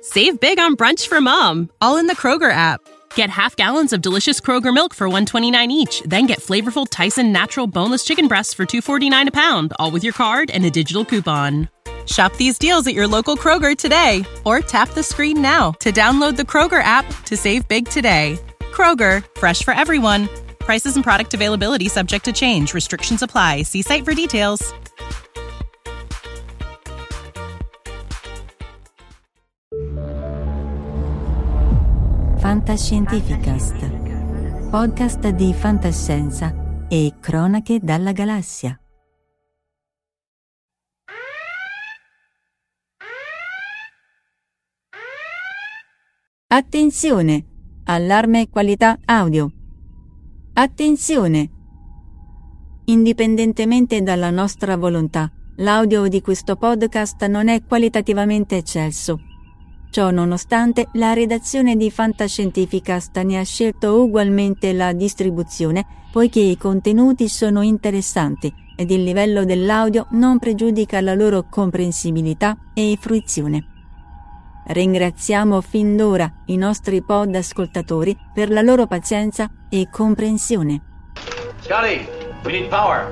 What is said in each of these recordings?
Save big on brunch for mom, all in the Kroger app. Get half gallons of delicious Kroger milk for $1.29 each. Then get flavorful Tyson natural boneless chicken breasts for $2.49 a pound, all with your card and a digital coupon. Shop these deals at your local Kroger today, or tap the screen now to download the Kroger app to save big today. Kroger, fresh for everyone. Prices and product availability subject to change. Restrictions apply. See site for details. Fantascientificast, podcast di fantascienza e cronache dalla galassia. Attenzione! Allarme qualità audio. Attenzione! Indipendentemente dalla nostra volontà, l'audio di questo podcast non è qualitativamente eccelso. Ciò nonostante, la redazione di Fantascientificast ne ha scelto ugualmente la distribuzione, poiché i contenuti sono interessanti ed il livello dell'audio non pregiudica la loro comprensibilità e fruizione. Ringraziamo fin d'ora i nostri pod ascoltatori per la loro pazienza e comprensione. Scotty, we need power.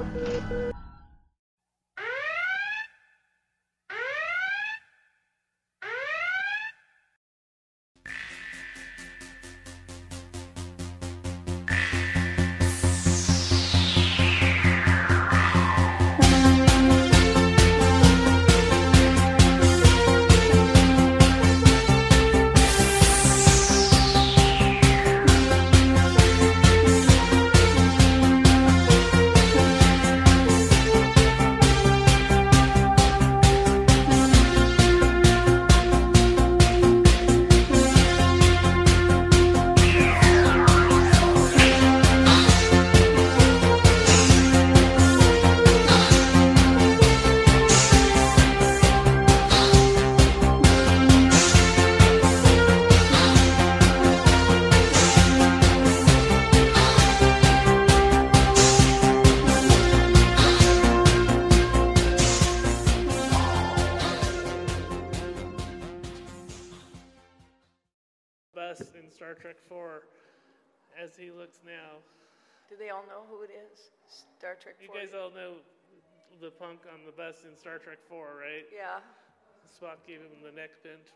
In Star Trek 4 as he looks now. Do they all know who it is? Star Trek 4? You guys all know the punk on the bus in Star Trek 4, right? Yeah. Spock gave him the neck pinch.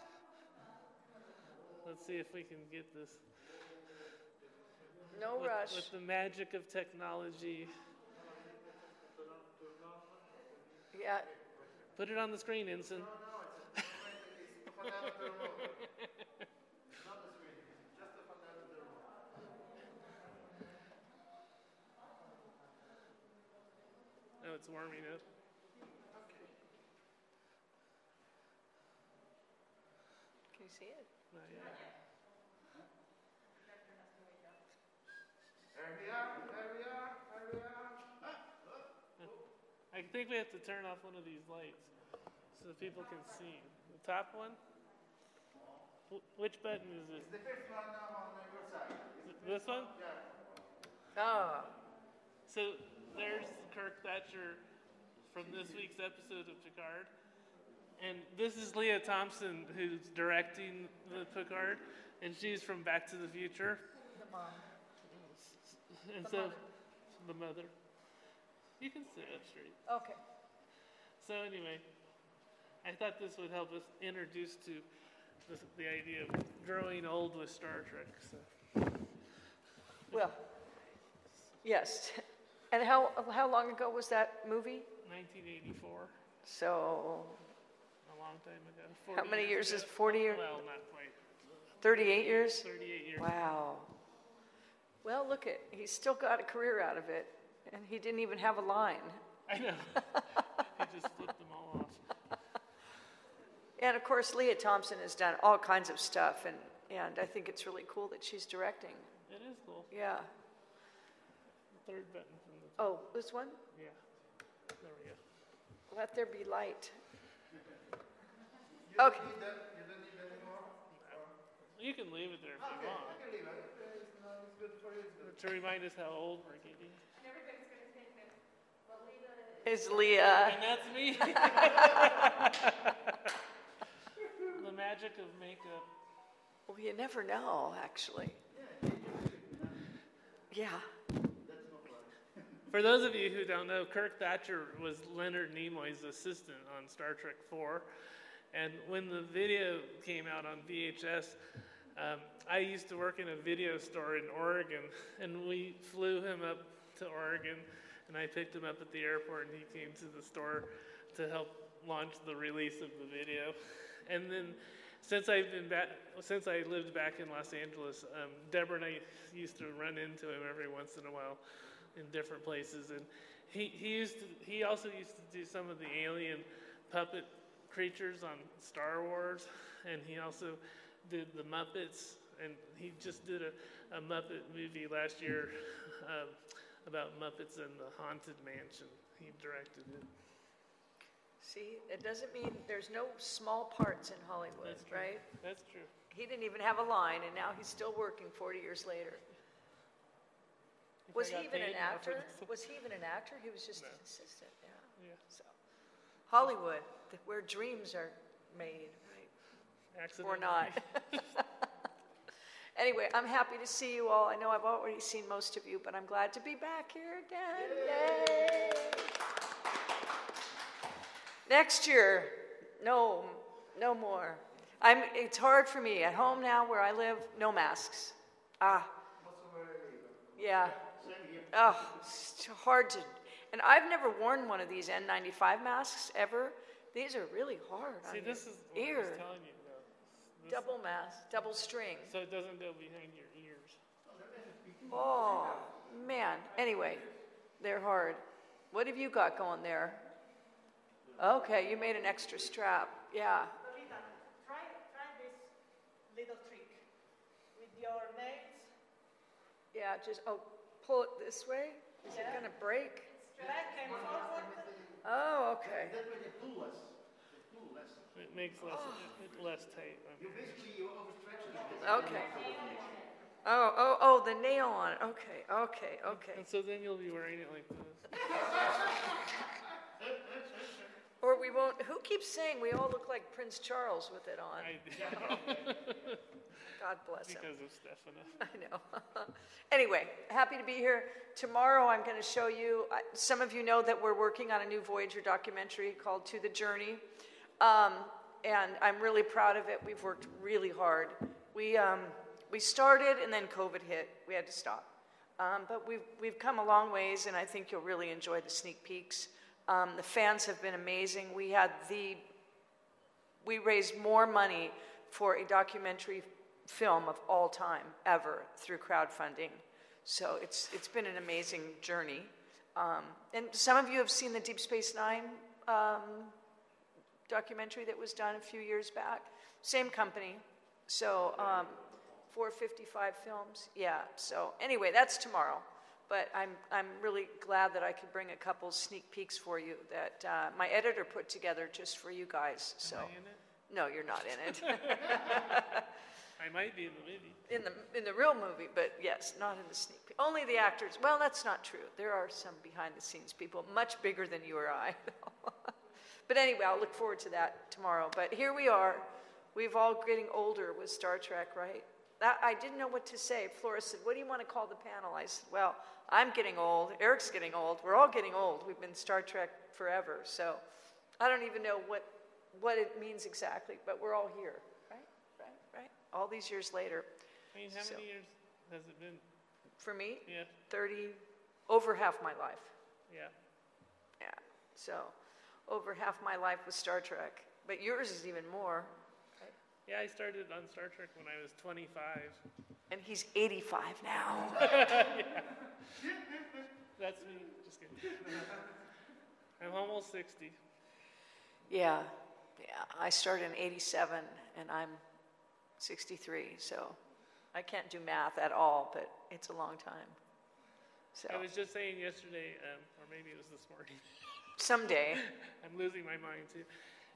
Let's see if we can get this. No rush. With the magic of technology. Yeah. Put it on the screen, Ensign. No, it's warming up. Can you see it? Not yet. There we are. I think we have to turn off one of these lights so that people can see. The top one? Which button is it? It's the first one on your side. This one? Yeah. Oh. So there's Kirk Thatcher from this week's episode of Picard. And this is Leah Thompson, who's directing the Picard, and she's from Back to the Future. The mom. And the mother. You can sit up straight. Okay. So anyway, I thought this would help us introduce to the idea of growing old with Star Trek. So. Well, yes. And how long ago was that movie? 1984. So. A long time ago. How many years ago. is 40 years? Well, not quite. 38 years? 38 years. Wow. Well, look he's still got a career out of it, and he didn't even have a line. I know. He just flipped them all off. And of course, Leah Thompson has done all kinds of stuff, and I think it's really cool that she's directing. It is cool. Yeah. The third button from the top. Oh, this one? Yeah. There we go. Let there be light. You Okay. don't need that anymore? You can leave it there if you want. I can leave it. It's good for you. It's good. To remind us how old we're getting. Is Leah. And that's me. The magic of makeup. Well, you never know, actually. Yeah. For those of you who don't know, Kirk Thatcher was Leonard Nimoy's assistant on Star Trek IV. And when the video came out on VHS, I used to work in a video store in Oregon, and we flew him up to Oregon, and I picked him up at the airport, and he came to the store to help launch the release of the video. And then since I lived back in Los Angeles, Deborah and I used to run into him every once in a while in different places, and he also used to do some of the alien puppet creatures on Star Wars, and he also did the Muppets, and he just did a Muppet movie last year about Muppets and the Haunted Mansion. He directed it. See, it doesn't mean there's no small parts in Hollywood, right? That's true. He didn't even have a line, and now he's still working 40 years later. Was he even an actor? Was he even an actor? He was just an assistant, yeah. So, Hollywood, where dreams are made, right? Accidentally. Or not. Anyway, I'm happy to see you all. I know I've already seen most of you, but I'm glad to be back here again. Yay! Next year, no more. It's hard for me. At home now, where I live, no masks. Yeah. Oh, it's hard to. And I've never worn one of these N95 masks ever. These are really hard on this is what your I was ear. telling you about. Double mask, double string. So it doesn't go behind your ears. Oh, man. Anyway, they're hard. What have you got going there? Okay, you made an extra strap. Yeah. Lolita, try this little trick with your nails. Yeah, just, pull it this way. Is it going to break? Back and forward. Oh, okay. It makes less tight. Okay. Oh, the nail on it. Okay. And so then you'll be wearing it like this. Or we won't. Who keeps saying we all look like Prince Charles with it on? God bless him. Because of Stefano. I know. Anyway, happy to be here. Tomorrow I'm going to show you, some of you know that we're working on a new Voyager documentary called To the Journey. And I'm really proud of it. We've worked really hard. We started and then COVID hit. We had to stop. But we've come a long ways, and I think you'll really enjoy the sneak peeks. The fans have been amazing. We raised more money for a documentary film of all time ever through crowdfunding. So it's been an amazing journey. And some of you have seen the Deep Space Nine documentary that was done a few years back. Same company. So 455 Films. Yeah. So anyway, that's tomorrow. But I'm really glad that I could bring a couple sneak peeks for you that my editor put together just for you guys. So Am I in it? No, you're not in it. I might be in the movie. In the real movie, but yes, not in the sneak peek. Only the actors. Well, that's not true. There are some behind the scenes people, much bigger than you or I. But anyway, I'll look forward to that tomorrow. But here we are. We've all getting older with Star Trek, right? I didn't know what to say. Flora said, "What do you want to call the panel?" I said, "Well, I'm getting old. Eric's getting old. We're all getting old. We've been Star Trek forever. So I don't even know what it means exactly, but we're all here, right? All these years later." I mean, how many years has it been? For me? Yeah. 30, over half my life. Yeah. Yeah. So over half my life was Star Trek. But yours is even more. Right? Yeah, I started on Star Trek when I was 25. And he's 85 now. Yeah. That's me. Just kidding. I'm almost 60. Yeah. I started in 87, and I'm 63, so I can't do math at all, but it's a long time. So I was just saying yesterday, or maybe it was this morning. Someday. I'm losing my mind too.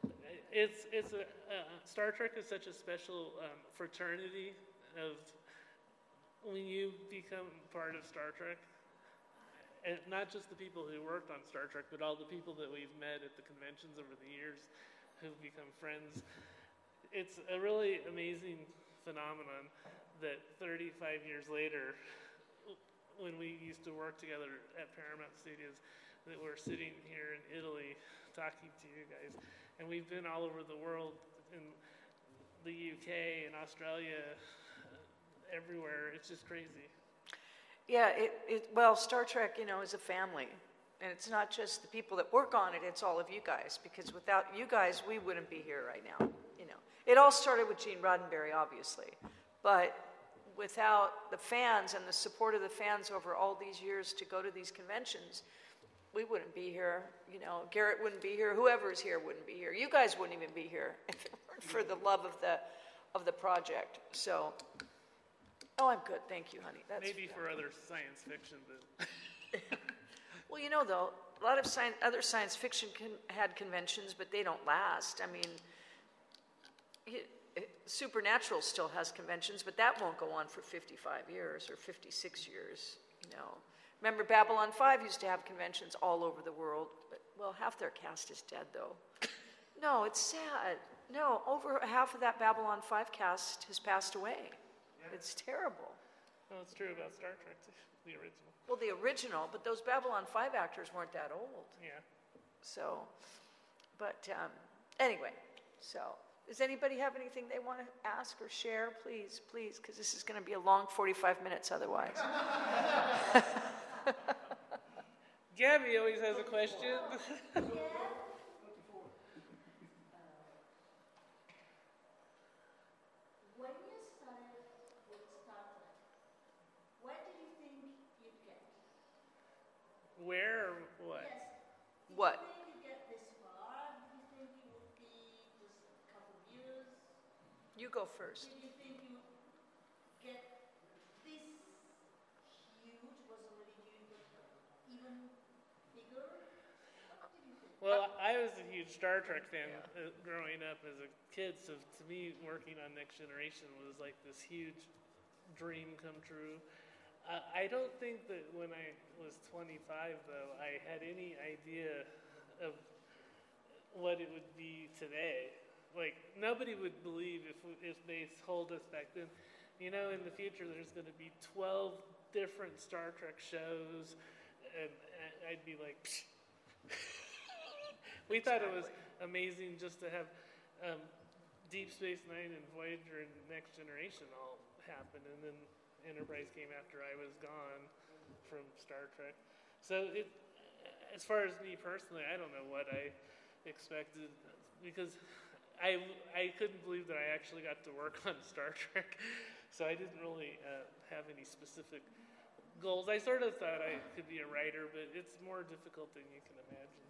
Star Trek is such a special fraternity of when you become part of Star Trek, and not just the people who worked on Star Trek, but all the people that we've met at the conventions over the years who've become friends. it's a really amazing phenomenon that 35 years later, when we used to work together at Paramount Studios, that we're sitting here in Italy talking to you guys. And we've been all over the world, in the UK and Australia, everywhere. It's just crazy. Yeah, well, Star Trek, is a family. And it's not just the people that work on it, it's all of you guys. Because without you guys, we wouldn't be here right now. It all started with Gene Roddenberry, obviously. But without the fans and the support of the fans over all these years to go to these conventions, we wouldn't be here. Garrett wouldn't be here. Whoever's here wouldn't be here. You guys wouldn't even be here if it weren't for the love of the project. So, I'm good. Thank you, honey. That's maybe for other science fiction, but well, though, a lot of other science fiction had conventions, but they don't last. I mean, Supernatural still has conventions, but that won't go on for 55 years or 56 years. Remember, Babylon 5 used to have conventions all over the world. But, well, half their cast is dead, though. No, it's sad. No, over half of that Babylon 5 cast has passed away. Yeah. It's terrible. Well, it's true about Star Trek, the original. Well, the original, but those Babylon 5 actors weren't that old. Yeah. So, but anyway, so does anybody have anything they want to ask or share? Please, because this is going to be a long 45 minutes otherwise. Gabby always has a question. When you started with Star Trek, where did you think you'd get? Where or what? Yes. What? Did you think you'd get this far? Did you think it would be just a couple of years? You go first. Did you think you would get this huge, was already huge, but even bigger? What did you think? Well, I was a huge Star Trek fan growing up as a kid, so to me, working on Next Generation was like this huge dream come true. I don't think that when I was 25, though, I had any idea of what it would be today. Like, nobody would believe if they told us back then, in the future there's going to be 12 different Star Trek shows, and I'd be like, psh. We thought it was amazing just to have Deep Space Nine and Voyager and Next Generation all happen, and then Enterprise came after I was gone from Star Trek. So as far as me personally, I don't know what I expected, because I couldn't believe that I actually got to work on Star Trek. So I didn't really have any specific goals. I sort of thought I could be a writer, but it's more difficult than you can imagine.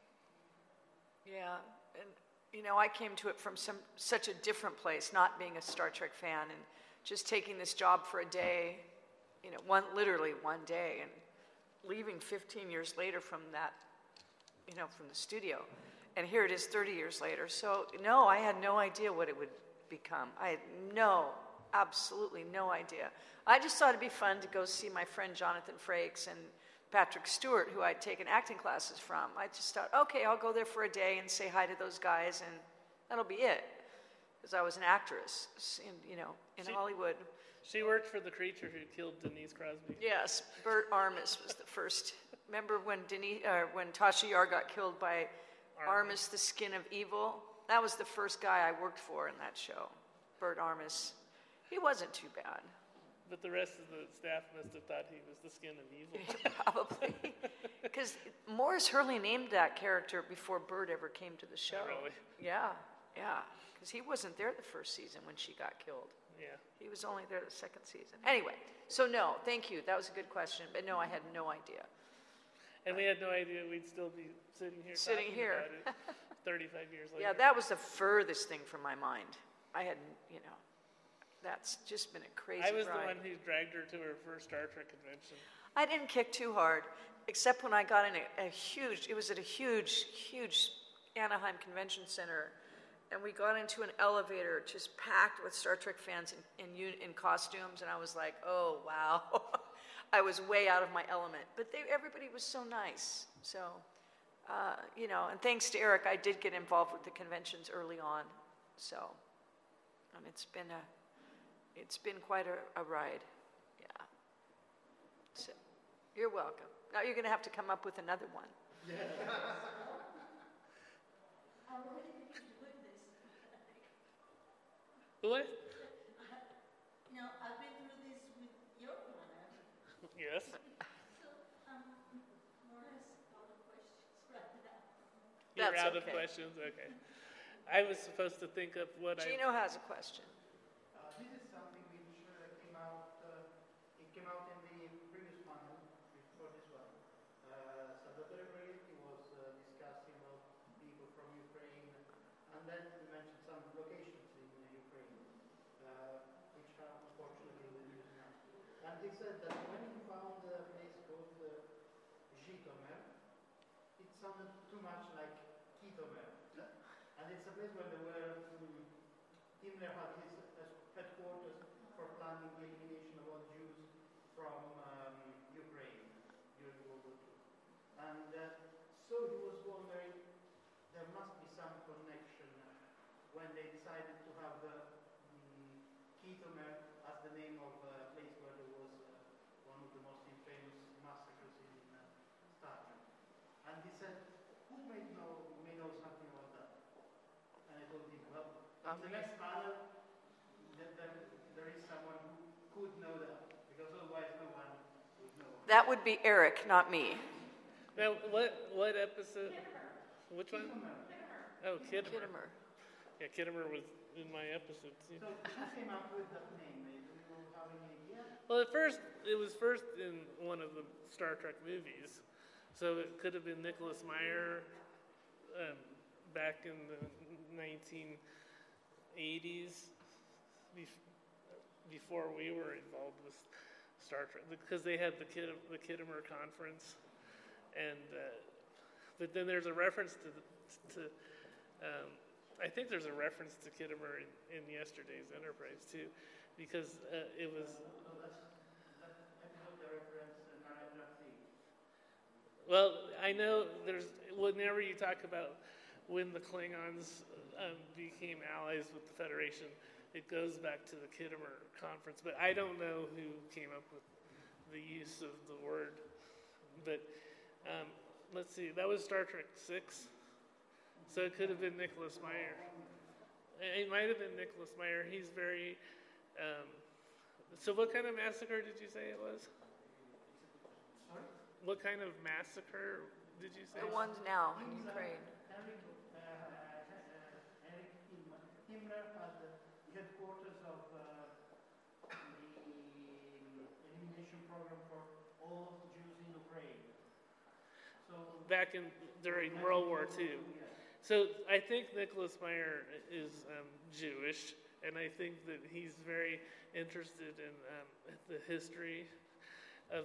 Yeah, and I came to it from such a different place, not being a Star Trek fan and just taking this job for a day, literally one day, and leaving 15 years later from that, from the studio. And here it is 30 years later. So, no, I had no idea what it would become. I had absolutely no idea. I just thought it'd be fun to go see my friend Jonathan Frakes and Patrick Stewart, who I'd taken acting classes from. I just thought, okay, I'll go there for a day and say hi to those guys, and that'll be it. Because I was an actress, in Hollywood. She worked for the creature who killed Denise Crosby. Yes, Bert Armis was the first. Remember when Tasha Yar got killed by Armis, the Skin of Evil? That was the first guy I worked for in that show, Bert Armis. He wasn't too bad. But the rest of the staff must have thought he was the Skin of Evil. Probably. Because Morris Hurley named that character before Bert ever came to the show. Oh, really? Yeah. Because he wasn't there the first season when she got killed. Yeah. He was only there the second season. Anyway, so no, thank you. That was a good question. But no, I had no idea. And we had no idea we'd still be sitting here talking about it 35 years later. Yeah, that was the furthest thing from my mind. I had, that's just been a crazy ride. I was the one who dragged her to her first Star Trek convention. I didn't kick too hard, except when I got in a huge Anaheim Convention Center, and we got into an elevator just packed with Star Trek fans in costumes, and I was like, oh, wow. I was way out of my element. But everybody was so nice. So, and thanks to Eric, I did get involved with the conventions early on. So, It's been quite a ride. Yeah. So, you're welcome. Now you're going to have to come up with another one. What? You know, I've been through this with your planner, Yes. so more or less out of questions right now. You're That's out of okay. questions? Okay. I was supposed to think of what Gino has a question. This is something which came out. It came out in the previous panel before this one. Salvatore Briletti was discussing about people from Ukraine, and then he mentioned some locations in Ukraine, which are unfortunately used now. And he said that when he found a place called Zhytomyr, it sounded too much like Kytomyr. And it's a place where there were Himmler had his headquarters for planning the elimination of all Jews from Ukraine during World War II. And so he was wondering, there must be some connection when they decided to have Kytomyr as the name of a place where there was one of the most infamous massacres in Star Trek. And he said, who may know something about that? And I told him, well, in the next panel, there is someone who could know that, because otherwise no one would know. That would be Eric, not me. Now, what episode? Which one? Oh, Kittimer. Kittimer. Yeah, Kittimer was in my episode too. So who came up with that name? Do you have any idea? Well, it was first in one of the Star Trek movies, so it could have been Nicholas Meyer back in the 1980s, before we were involved with Star Trek, because they had the Kittimer Conference, and but then there's a reference to I think there's a reference to Kittimer in yesterday's Enterprise too, because it was. Well, I know whenever you talk about when the Klingons became allies with the Federation, it goes back to the Kittimer Conference, but I don't know who came up with the use of the word. But let's see, that was Star Trek 6, so it could have been Nicholas Meyer. It might have been Nicholas Meyer. He's very. So, what kind of massacre did you say it was? Sorry? What kind of massacre did you say? The ones now in Ukraine. Himmler had the headquarters of the elimination program for all Jews in Ukraine. So Back during World War II. So I think Nicholas Meyer is Jewish, and I think that he's very interested in the history of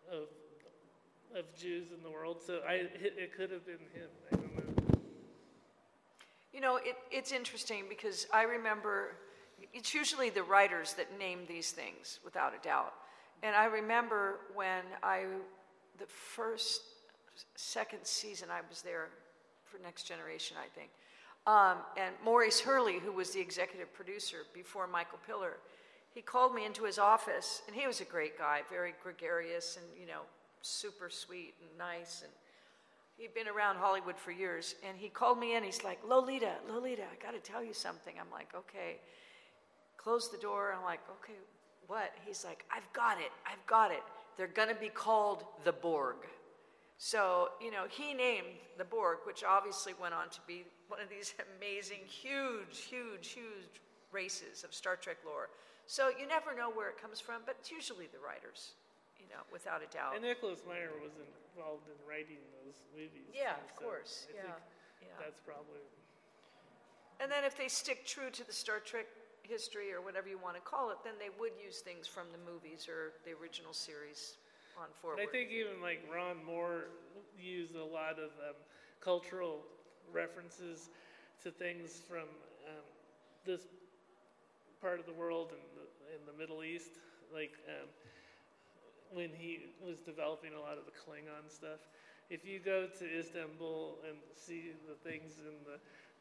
Jews in the world. So it could have been him. I don't know. You know, it's interesting because I remember it's usually the writers that name these things, without a doubt. And I remember when the second season I was there for Next Generation, I think. And Maurice Hurley, who was the executive producer before Michael Piller, he called me into his office, and he was a great guy, very gregarious and, super sweet and nice. And he'd been around Hollywood for years. And he called me in. He's like, Lolita, I got to tell you something. I'm like, okay. Close the door. I'm like, okay, what? He's like, I've got it. They're going to be called the Borg. So, he named the Borg, which obviously went on to be one of these amazing, huge races of Star Trek lore. So you never know where it comes from, but it's usually the writers, without a doubt. And Nicholas Meyer was involved in writing those movies. Yeah, too, of so course. I think that's probably. And then if they stick true to the Star Trek history or whatever you want to call it, then they would use things from the movies or the original series on forward. But I think even like Ron Moore used a lot of cultural references to things from this part of the world in the Middle East, like when he was developing a lot of the Klingon stuff. If you go to Istanbul and see the things in the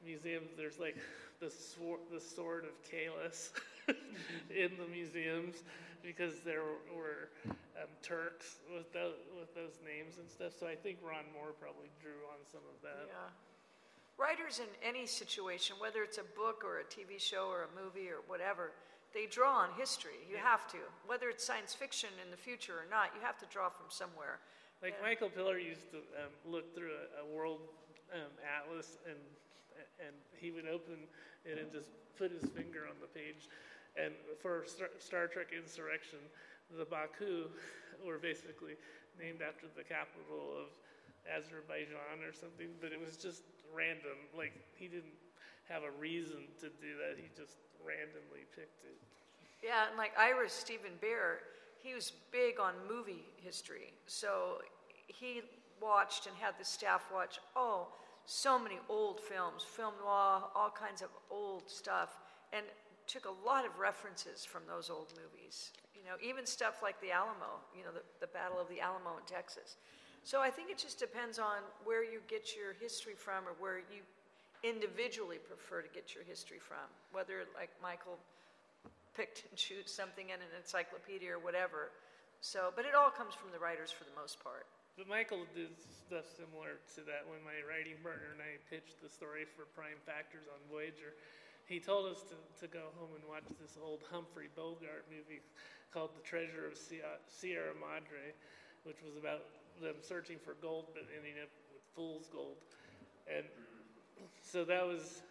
museums, there's like the sword of Kalis in the museums because there were Turks with those names and stuff. So I think Ron Moore probably drew on some of that. Yeah. Writers in any situation, whether it's a book or a TV show or a movie or whatever, they draw on history. You have to. Whether it's science fiction in the future or not, you have to draw from somewhere. Like Michael Piller used to look through a world atlas, and he would open it and just put his finger on the page. And for Star Trek Insurrection, the Baku were basically named after the capital of Azerbaijan or something, but it was just random. Like, he didn't have a reason to do that. He just randomly picked it. Yeah, and like Ira Stephen Bear, he was big on movie history. So he watched and had the staff watch, so many old films, film noir, all kinds of old stuff, and took a lot of references from those old movies. You know, even stuff like the Alamo, you know, the Battle of the Alamo in Texas. So I think it just depends on where you get your history from or where you individually prefer to get your history from, whether like Michael picked and choose something in an encyclopedia or whatever. So, but it all comes from the writers for the most part. But Michael did stuff similar to that when my writing partner and I pitched the story for Prime Factors on Voyager. He told us to go home and watch this old Humphrey Bogart movie called The Treasure of Sierra Madre, which was about them searching for gold but ending up with fool's gold. And so that was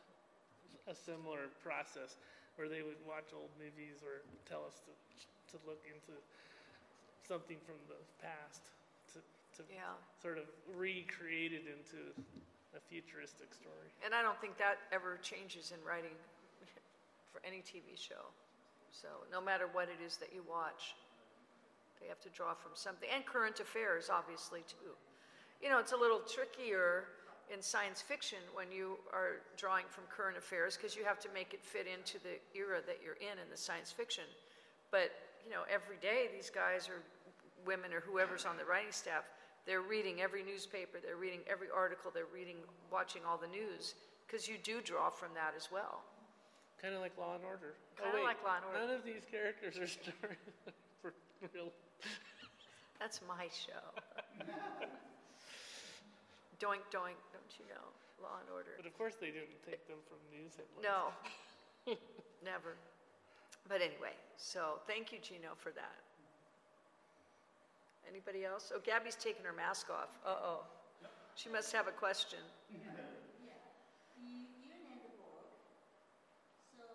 a similar process where they would watch old movies or tell us to look into something from the past to sort of recreate it into a futuristic story. And I don't think that ever changes in writing for any TV show. So no matter what it is that you watch, they have to draw from something. And current affairs, obviously, too. You know, it's a little trickier in science fiction when you are drawing from current affairs because you have to make it fit into the era that you're in the science fiction. But, you know, every day these guys or women or whoever's on the writing staff, they're reading every newspaper, they're reading every article, they're watching all the news because you do draw from that as well. Kind of like Law and Order. Kind of like Law and Order. None of these characters are starring for real. That's my show. Doink, doink, don't you know? Law and Order. But of course they didn't take them from news headlines. No, never. But anyway, so thank you, Gino, for that. Anybody else? Oh, Gabby's taking her mask off. Uh-oh. She must have a question. You named the book. So,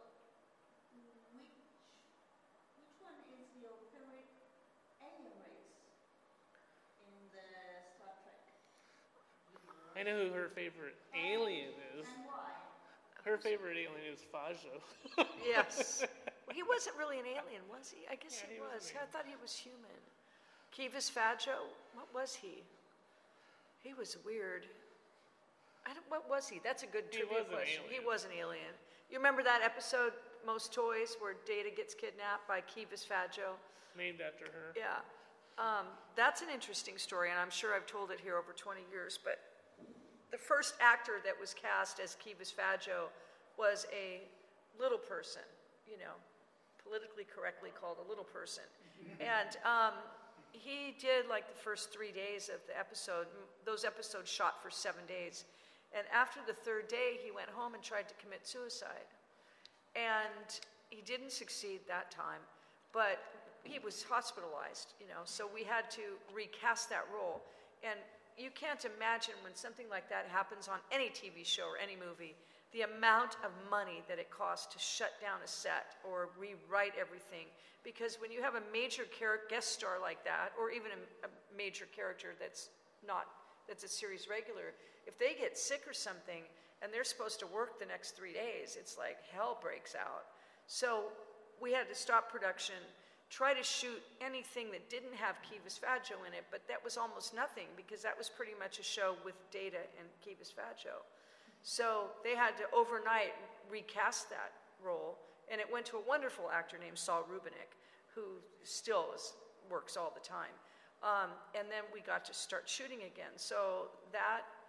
which one is your favorite alien race in the Star Trek? I know who her favorite alien is. And why? Her favorite alien is Fajo. Yes. He wasn't really an alien, was he? I guess he Yeah, he was. was an I thought he was human. Kivas Fajo? What was he? He was weird. What was he? That's a good trivia question. He was an alien. You remember that episode, Most Toys, where Data gets kidnapped by Kivas Fajo? Named after her. Yeah. That's an interesting story, and I'm sure I've told it here over 20 years, but the first actor that was cast as Kivas Fajo was a little person, you know, politically correctly called a little person. And he did like the first 3 days of the episode. Those episodes shot for 7 days. And after the third day, he went home and tried to commit suicide. And he didn't succeed that time, but he was hospitalized, you know, so we had to recast that role. And you can't imagine when something like that happens on any TV show or any movie, the amount of money that it costs to shut down a set or rewrite everything. Because when you have a major guest star like that, or even a major character that's a series regular, if they get sick or something and they're supposed to work the next 3 days, it's like hell breaks out. So we had to stop production, try to shoot anything that didn't have Kivas Fajo in it, but that was almost nothing because that was pretty much a show with Data and Kivas Fajo. So they had to overnight recast that role, and it went to a wonderful actor named Saul Rubinek, who still works all the time. And then we got to start shooting again. So that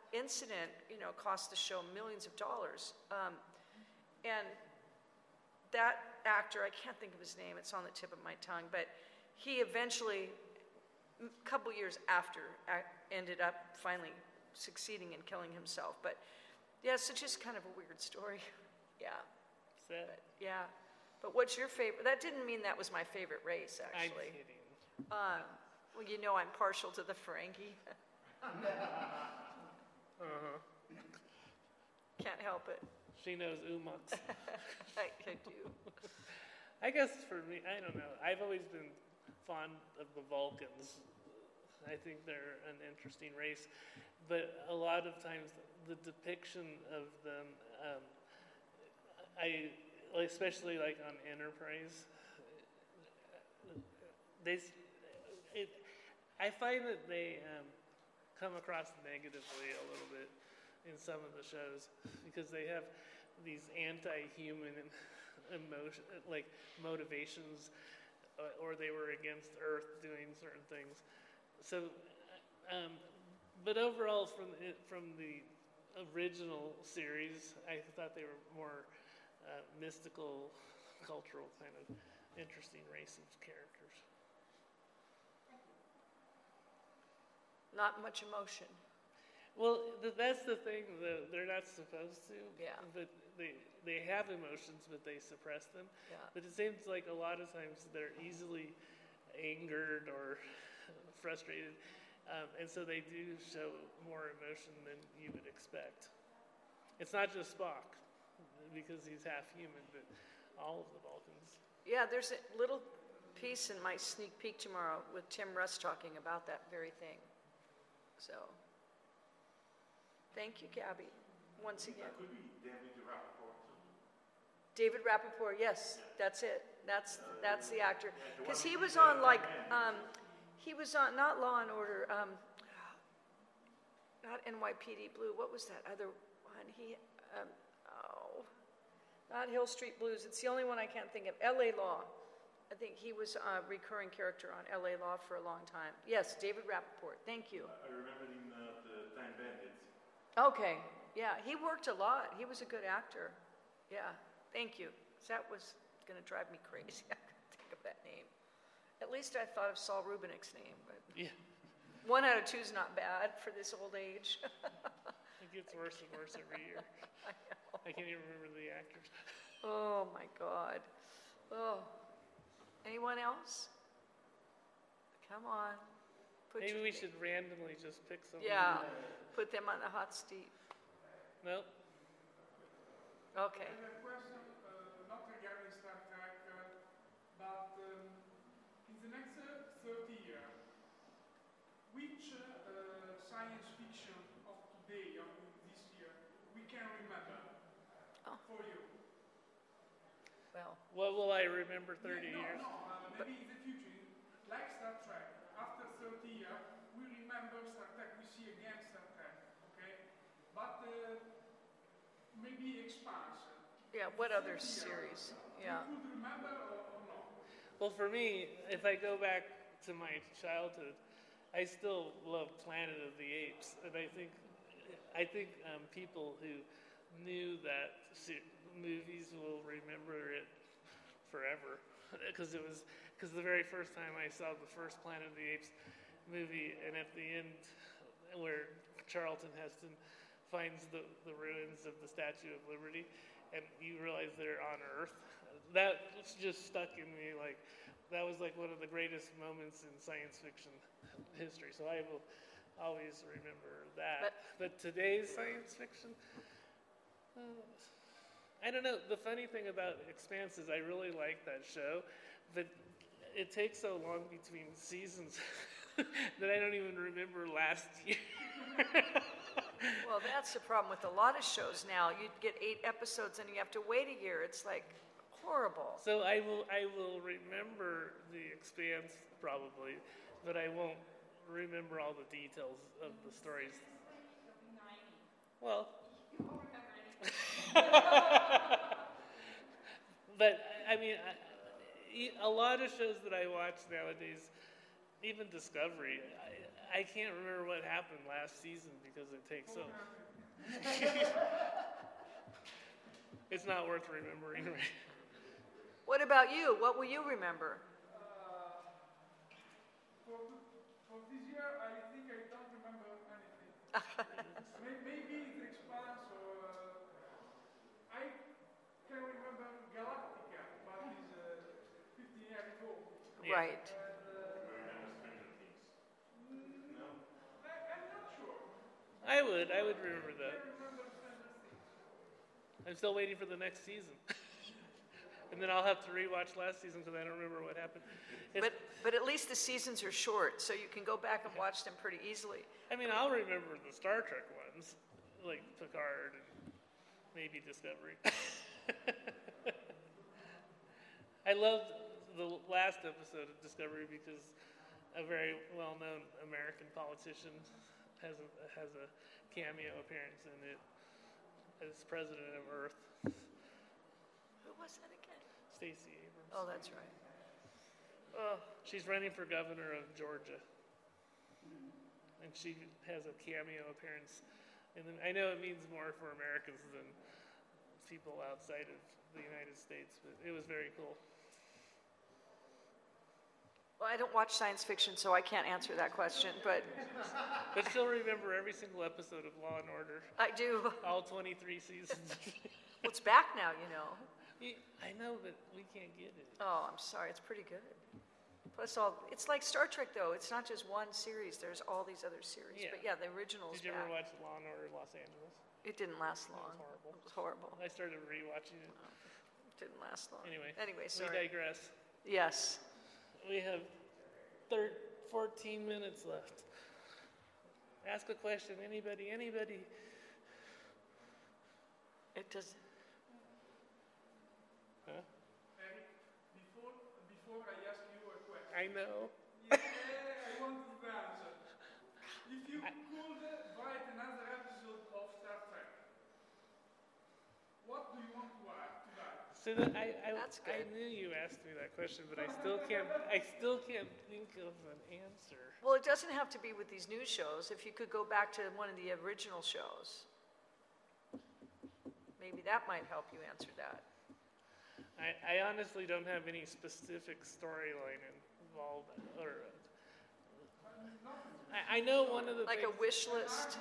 incident, cost the show millions of dollars. And that actor, I can't think of his name, it's on the tip of my tongue, but he eventually, a couple years after, ended up finally succeeding in killing himself. But yeah, so just kind of a weird story. Yeah. Sad. But, yeah. But what's your favorite? That didn't mean that was my favorite race, actually. I'm kidding. Well, I'm partial to the Ferengi. Can't help it. She knows Umux. I do. I guess for me, I don't know. I've always been fond of the Vulcans. I think they're an interesting race. But a lot of times, the depiction of them, especially like on Enterprise, I find that they come across negatively a little bit in some of the shows because they have these anti-human emotion, like motivations, or they were against Earth doing certain things. So, but overall, from the original series, I thought they were more mystical, cultural, kind of interesting race of characters. Not much emotion. Well, that's the thing. They're not supposed to. Yeah. But they have emotions, but they suppress them. Yeah. But it seems like a lot of times they're easily angered or frustrated, and so they do show more emotion than you would expect. It's not just Spock, because he's half human, but all of the Vulcans. Yeah, there's a little piece in my sneak peek tomorrow with Tim Russ talking about that very thing. So, thank you, Gabby, once again. That could be David Rappaport too. David Rappaport, yes, that's it. That's the actor. Because he was on he was on, not Law and Order, not NYPD Blue, what was that other one? Not Hill Street Blues, it's the only one I can't think of. LA Law. I think he was a recurring character on LA Law for a long time. Yes, David Rappaport, thank you. I remember him the Time Bandits. Okay, yeah, he worked a lot. He was a good actor. Yeah, thank you. That was going to drive me crazy. I couldn't think of that name. At least I thought of Saul Rubinick's name. But Yeah. 1 out of 2 is not bad for this old age. It gets worse and worse every year. I can't even remember the actors. Oh, my God. Oh. Anyone else? Come on. Maybe we should randomly just pick someone. Yeah, put them on the hot seat. Nope. Okay. I have a question, not regarding Star Trek, but in the next 30 years, which science fiction of today, of this year, we can remember for you? Well, What will I remember 30 years? Maybe in the future, like Star Trek, after 30 years, we remember Star Trek, we see again Star Trek, okay? But maybe expansion. yeah, what other series? Yeah. You could remember or not? Well, for me, if I go back to my childhood, I still love Planet of the Apes, and I think people who knew that movies will remember it forever, because the very first time I saw the first Planet of the Apes movie, and at the end, where Charlton Heston finds the ruins of the Statue of Liberty, and you realize they're on Earth, that just stuck in me. Like, that was like one of the greatest moments in science fiction history. So I will always remember that. But today's science fiction, I don't know. The funny thing about Expanse is I really like that show, but it takes so long between seasons that I don't even remember last year. Well, that's the problem with a lot of shows now. You get 8 episodes and you have to wait a year. It's like horrible. So I will remember The Expanse probably, but I won't remember all the details of the stories. Well, but I mean, a lot of shows that I watch nowadays, even Discovery, I can't remember what happened last season because it takes so. It's not worth remembering. Right? What about you? What will you remember? For this year, I think I don't remember anything. Maybe the Expanse or I can remember Galactica, but it's 15 years ago. Yeah. Right. I'm not sure. I would remember that. I'm still waiting for the next season. And then I'll have to rewatch last season because I don't remember what happened. But at least the seasons are short, so you can go back and watch them pretty easily. I mean, I'll remember the Star Trek ones, like Picard and maybe Discovery. I loved the last episode of Discovery because a very well-known American politician has a cameo appearance in it as president of Earth. Who was that again? Stacey Abrams. Oh, that's right. She's running for governor of Georgia. And she has a cameo appearance. And then I know it means more for Americans than people outside of the United States, but it was very cool. Well, I don't watch science fiction, so I can't answer that question, but But still remember every single episode of Law and Order. I do. All 23 seasons. Well, it's back now, you know. I know, but we can't get it. Oh, I'm sorry. It's pretty good. Plus, it's like Star Trek, though. It's not just one series. There's all these other series. Yeah. But yeah, the original's Did you ever back. watch Law and Order Los Angeles? It didn't last It long. was horrible. It was horrible. I started rewatching it. It didn't last long. Anyway, sorry. we digress. Yes. We have 14 minutes left. Ask a question. Anybody? It doesn't. Huh? Eric, before I ask you a question. I know. Yeah, I want to answer. If you could write another episode of Star Trek, what do you want to write? So That's I good. knew you asked me that question, but I still can't think of an answer. Well, it doesn't have to be with these new shows. If you could go back to one of the original shows, maybe that might help you answer that. I honestly don't have any specific storyline involved, or I know one of the Like things, a wish list.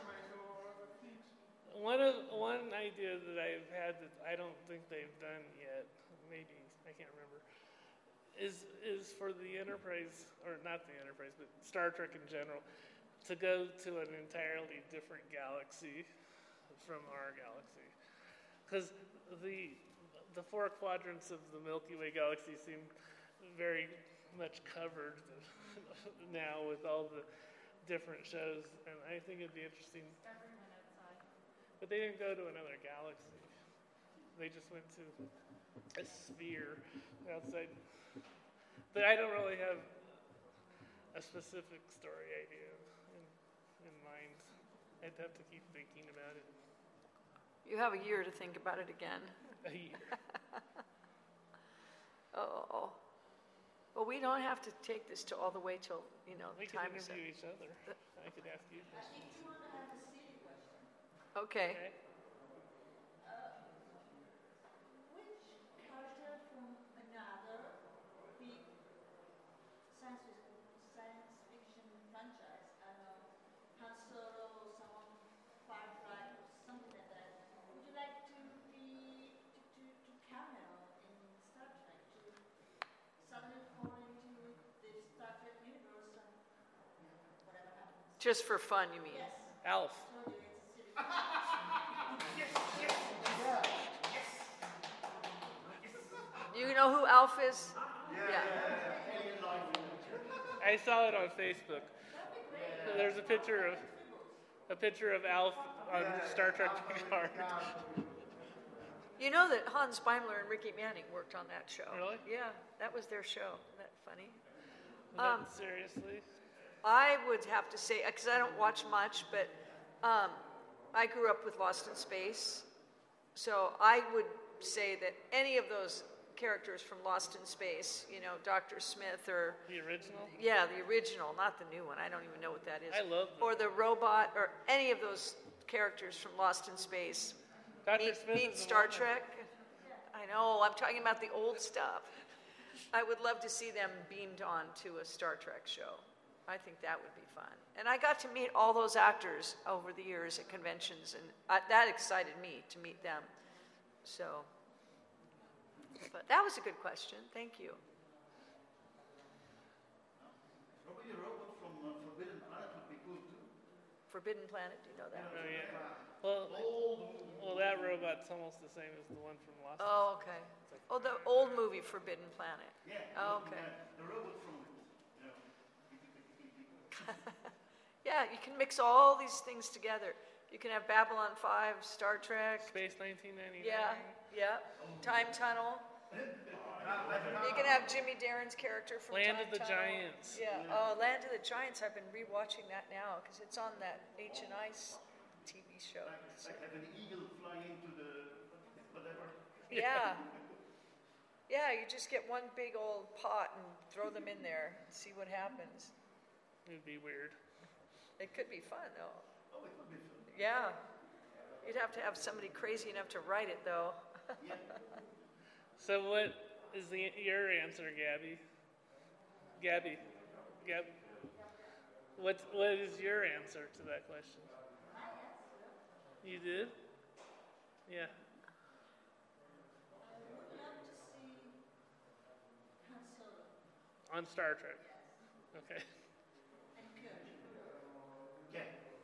One idea that I've had that I don't think they've done yet, maybe I can't remember, is for the Enterprise, or not the Enterprise, but Star Trek in general, to go to an entirely different galaxy from our galaxy, because the four quadrants of the Milky Way galaxy seem very much covered now with all the different shows, and I think it'd be interesting. But they didn't go to another galaxy. They just went to a sphere outside. But I don't really have a specific story idea in mind. I'd have to keep thinking about it. You have a year to think about it again. A year. Oh. Well, we don't have to take this to all the way till, We could time is up. interview each other. I could ask you questions. Okay. Which character from another big science fiction franchise, I don't know, Han Solo, someone, Firefly, something like that, would you like to cameo in Star Trek, to suddenly fall into the Star Trek universe and whatever happens? Just for fun, you mean? Yes. Alf. Told you it's a silly You know who Alf is? Yeah. I saw it on Facebook. There's a picture of Alf on Star Trek Picard. You know that Hans Beimler and Ricky Manning worked on that show. Really? Yeah, that was their show. Isn't that funny? Seriously? I would have to say, because I don't watch much, but I grew up with Lost in Space. So I would say that any of those characters from Lost in Space, Dr. Smith or... The original? Yeah, the original, not the new one. I don't even know what that is. I love them. Or the robot, or any of those characters from Lost in Space. Dr. Smith Meet is the Star one. Trek. I know, I'm talking about the old stuff. I would love to see them beamed on to a Star Trek show. I think that would be fun. And I got to meet all those actors over the years at conventions, and that excited me to meet them. So, but that was a good question. Thank you. Probably a robot from Forbidden Planet would be cool too. Forbidden Planet, do you know that? Oh, yeah. Well, that robot's almost the same as the one from Lost. Oh, okay. Oh, the old movie Forbidden Planet. Yeah. Oh, okay. The robot from Yeah, you can mix all these things together. You can have Babylon 5, Star Trek. Space 1999. Yeah. Time Tunnel. You can have Jimmy Darren's character from Land Time of the Tunnel. Giants. Yeah. Oh, Land of the Giants. I've been rewatching that now because it's on that Ancient Ice TV show. like have an eagle fly into the whatever. Yeah. Yeah, you just get one big old pot and throw them in there and see what happens. It'd be weird. It could be fun, though. Oh, it would be fun. Yeah. You'd have to have somebody crazy enough to write it, though. So what is your answer, Gabby? Gabby. What is your answer to that question? You did? Yeah. On Star Trek. Okay. Yeah.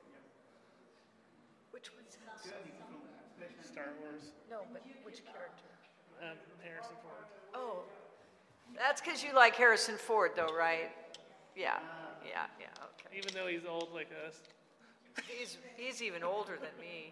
Which one's Star Wars. No, but which character? Harrison Ford. Oh, that's because you like Harrison Ford, though, right? Yeah, okay. Even though he's old like us. He's even older than me.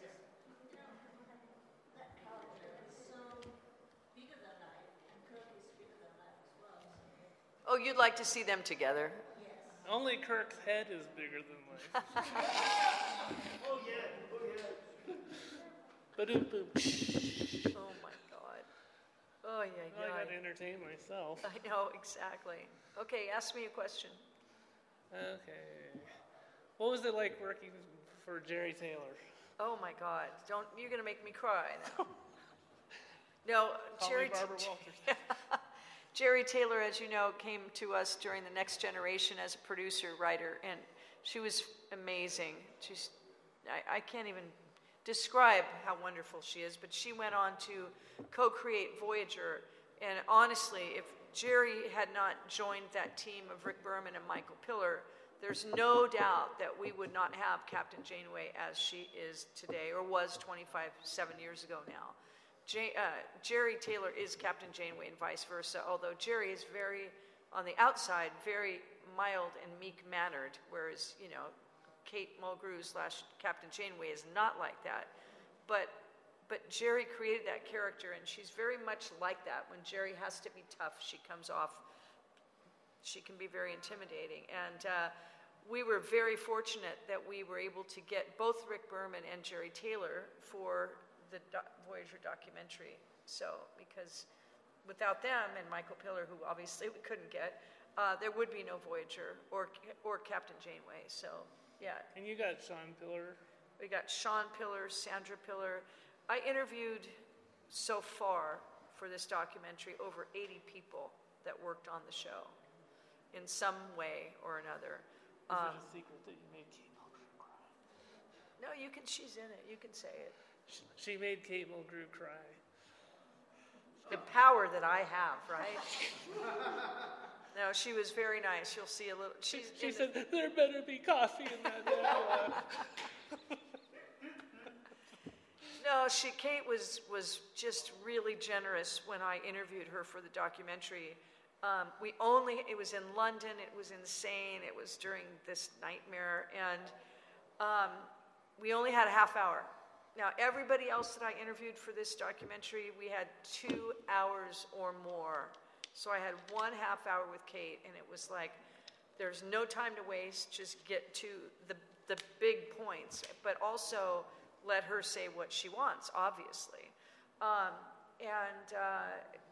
Oh, you'd like to see them together? Only Kirk's head is bigger than life. Oh yeah. Ba-doom-boom. Oh my God. Oh yeah. Well, I got to entertain myself. I know, exactly. Okay, ask me a question. Okay. What was it like working for Jerry Taylor? Oh my God! You're gonna make me cry now. No, Call Jerry. me Barbara Walters. Jerry Taylor, as you know, came to us during The Next Generation as a producer, writer, and she was amazing. I can't even describe how wonderful she is, but she went on to co-create Voyager, and honestly, if Jerry had not joined that team of Rick Berman and Michael Piller, there's no doubt that we would not have Captain Janeway as she is today, or was 7 years ago now. Jerry Taylor is Captain Janeway and vice versa, although Jerry is very, on the outside, very mild and meek-mannered, whereas, Kate Mulgrew / Captain Janeway is not like that. But Jerry created that character, and she's very much like that. When Jerry has to be tough, she can be very intimidating. And we were very fortunate that we were able to get both Rick Berman and Jerry Taylor for the Voyager documentary. So, because without them and Michael Piller, who obviously we couldn't get, there would be no Voyager or Captain Janeway. So, yeah. And you got Sean Piller. We got Sean Piller, Sandra Piller. I interviewed so far for this documentary over 80 people that worked on the show in some way or another. Is it a secret that you made Kate Mulgrew cry? No, she's in it. You can say it. She made Kate Mulgrew cry. The power that I have, right? No, she was very nice. You'll see a little. She said, there better be coffee in that nebula. No, Kate was just really generous when I interviewed her for the documentary. It was in London, it was insane, it was during this nightmare, and we only had a half hour. Now, everybody else that I interviewed for this documentary, we had 2 hours or more. So I had 1 half hour with Kate, and it was like, there's no time to waste, just get to the big points, but also let her say what she wants, obviously.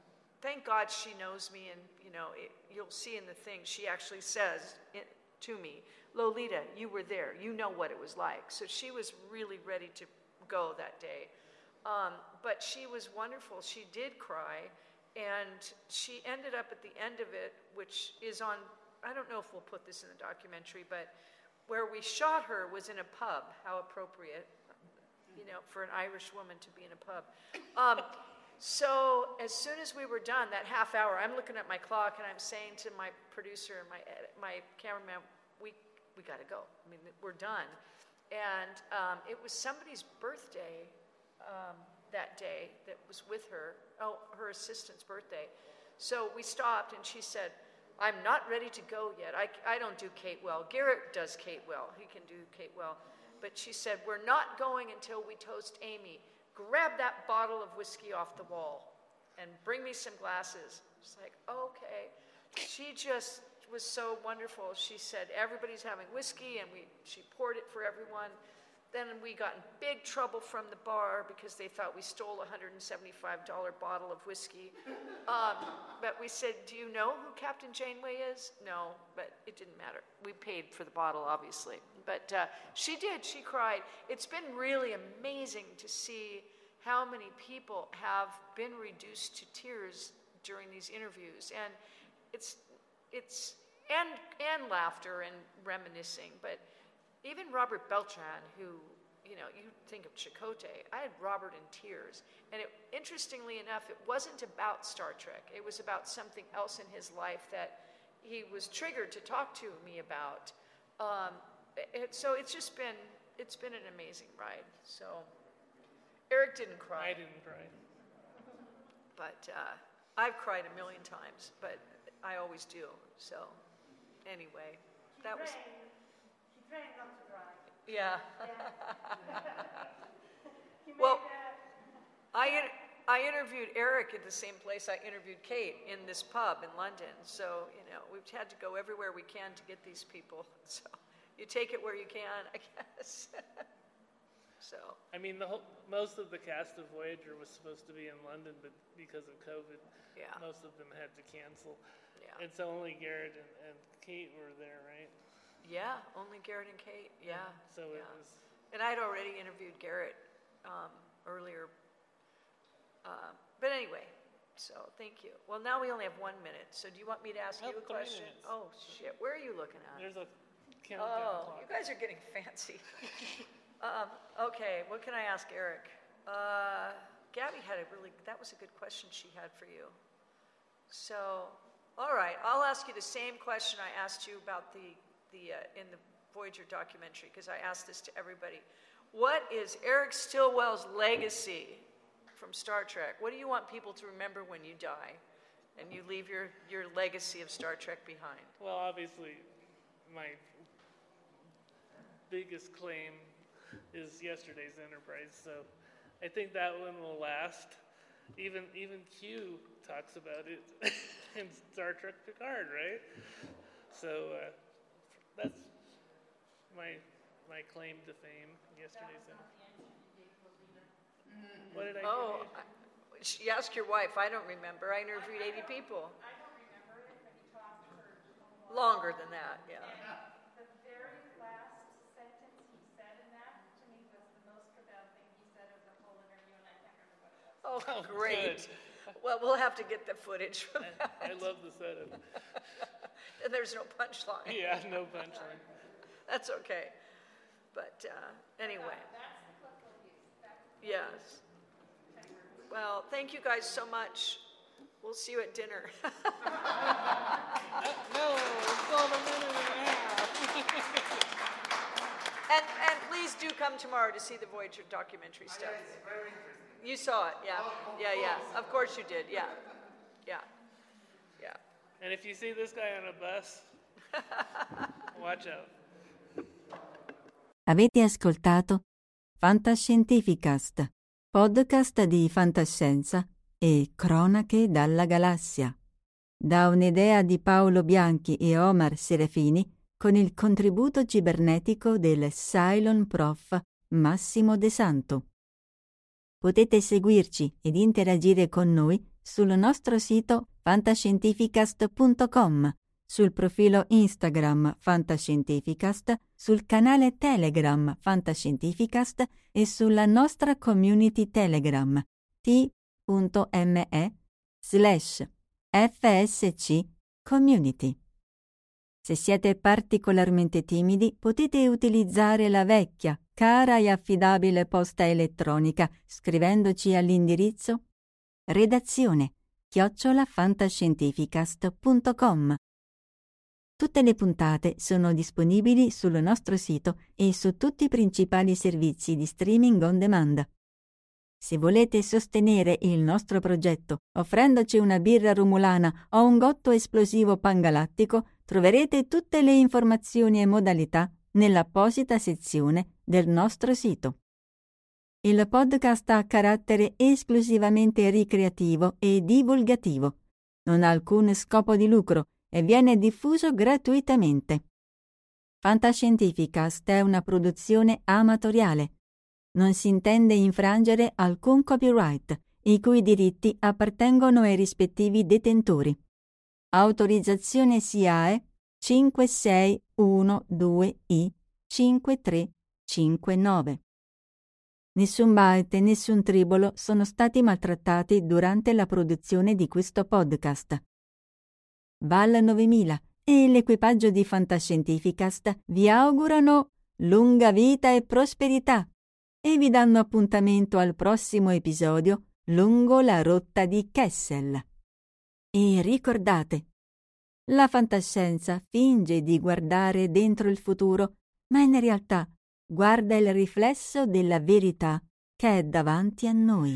thank God she knows me, and you'll see in the thing, she actually says to me, Lolita, you were there. You know what it was like. So she was really ready to go that day. But she was wonderful. She did cry, and she ended up at the end of it, which is on, I don't know if we'll put this in the documentary, but where we shot her was in a pub. How appropriate, for an Irish woman to be in a pub. So as soon as we were done, that half hour, I'm looking at my clock and I'm saying to my producer and my cameraman, we got to go. I mean, we're done. And it was somebody's birthday that day that was with her. Oh, her assistant's birthday. So we stopped and she said, I'm not ready to go yet. I don't do Kate well. Garrett does Kate well. He can do Kate well. But she said, we're not going until we toast Amy. Grab that bottle of whiskey off the wall and bring me some glasses. She's like, okay. She just was so wonderful. She said, everybody's having whiskey, and she poured it for everyone. Then we got in big trouble from the bar because they thought we stole a $175 bottle of whiskey. But we said, do you know who Captain Janeway is? No, but it didn't matter. We paid for the bottle, obviously. But she did. She cried. It's been really amazing to see how many people have been reduced to tears during these interviews. And it's laughter and reminiscing. But even Robert Beltran, who, you think of Chakotay, I had Robert in tears. And interestingly enough, it wasn't about Star Trek. It was about something else in his life that he was triggered to talk to me about. So it's been an amazing ride. So Eric didn't cry. I didn't cry. But I've cried a million times, but I always do. So anyway, that was... Trying not to drive. Yeah. Well, I interviewed Eric at the same place I interviewed Kate, in this pub in London. So, we've had to go everywhere we can to get these people. So you take it where you can, I guess. So. I mean, most of the cast of Voyager was supposed to be in London, but because of COVID, most of them had to cancel. Yeah. And so only Garrett and Kate were there, right? Yeah, only Garrett and Kate, yeah. So it was... And I'd already interviewed Garrett earlier. But anyway, so thank you. Well, now we only have 1 minute, so do you want me to ask you a question? 3 minutes. Oh, shit, where are you looking at? There's a countdown clock. You guys are getting fancy. Okay, what can I ask Eric? Gabby had that was a good question she had for you. So, all right, I'll ask you the same question I asked you about in the Voyager documentary, because I asked this to everybody. What is Eric Stillwell's legacy from Star Trek? What do you want people to remember when you die and you leave your legacy of Star Trek behind? Well, obviously, my biggest claim is yesterday's Enterprise, so I think that one will last. Even Q talks about it in Star Trek Picard, right? So that's my claim to fame. Yesterday's Enterprise. What did I do? She asked your wife. I don't remember. I interviewed 80 people. I don't remember it, but you talked to her longer than that, yeah. The very last sentence he said in that, to me, was the most profound thing he said of the whole interview, and I can't remember what it was. Oh, great. Well, we'll have to get the footage from that. I love the setup. And there's no punchline. Yeah, no punchline. That's okay. But anyway. That's the clip we'll use. Yes. Well, thank you guys so much. We'll see you at dinner. No, it's all a minute and a half. And please do come tomorrow to see the Voyager documentary stuff. It's very interesting. You saw it, yeah. Yeah. Of course you did, yeah. And if you see this guy on a bus, watch out. Avete ascoltato Fantascientificast, podcast di fantascienza e cronache dalla galassia, da un'idea di Paolo Bianchi e Omar Serafini con il contributo cibernetico del Cylon Prof Massimo De Santo. Potete seguirci ed interagire con noi sul nostro sito fantascientificast.com, sul profilo Instagram Fantascientificast, sul canale Telegram Fantascientificast e sulla nostra community Telegram t.me/FSC Community. Se siete particolarmente timidi, potete utilizzare la vecchia, cara e affidabile posta elettronica scrivendoci all'indirizzo redazione@fantascientificast.com. Tutte le puntate sono disponibili sul nostro sito e su tutti i principali servizi di streaming on demand. Se volete sostenere il nostro progetto offrendoci una birra romulana o un gotto esplosivo pangalattico, troverete tutte le informazioni e modalità nell'apposita sezione del nostro sito. Il podcast ha carattere esclusivamente ricreativo e divulgativo. Non ha alcun scopo di lucro e viene diffuso gratuitamente. Fantascientificast è una produzione amatoriale. Non si intende infrangere alcun copyright, i cui diritti appartengono ai rispettivi detentori. Autorizzazione SIAE 5612I5359. Nessun byte e nessun tribolo sono stati maltrattati durante la produzione di questo podcast. Val 9000 e l'equipaggio di Fantascientificast vi augurano lunga vita e prosperità e vi danno appuntamento al prossimo episodio lungo la rotta di Kessel. E ricordate, la fantascienza finge di guardare dentro il futuro, ma in realtà guarda il riflesso della verità che è davanti a noi.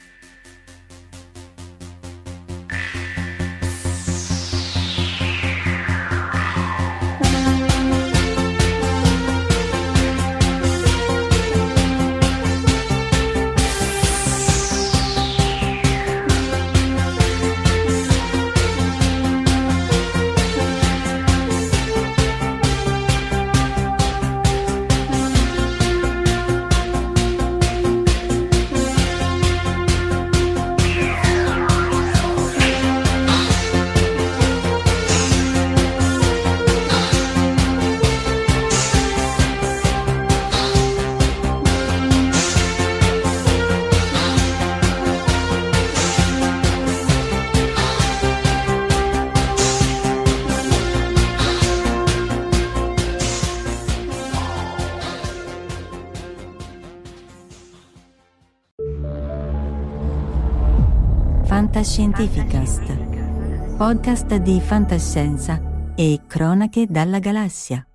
Fantascientificast, podcast di fantascienza e cronache dalla galassia.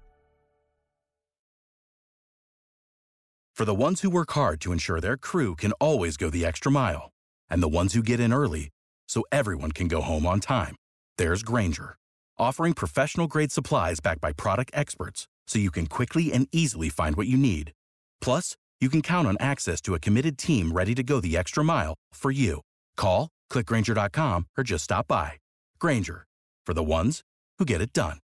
For the ones who work hard to ensure their crew can always go the extra mile, and the ones who get in early so everyone can go home on time, there's Grainger, offering professional-grade supplies backed by product experts so you can quickly and easily find what you need. Plus, you can count on access to a committed team ready to go the extra mile for you. Call, click Grainger.com, or just stop by. Grainger, for the ones who get it done.